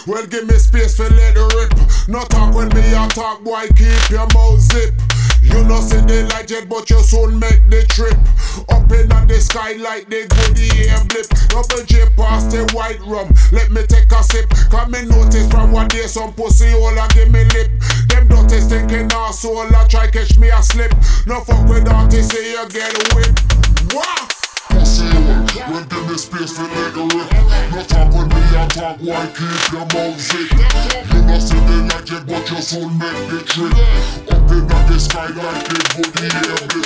Well, give me space for let it rip. No talk when me a talk, boy, keep your mouth zip. You know see the light yet, but you soon make the trip. Up in the sky like the goodie air blip. Double J past the white rum, let me take a sip. Come me notice from one day some pussy all a give me lip. Them dirty stinking arsehole a try catch me a slip. No fuck with artists, say you get whipped. Wah! Pussy hole, well give me space for let it rip. No talk when me a talk, why keep your mouth zip. You know see the light yet, but you soon make the trip. Up in the sky like the goodie air blip.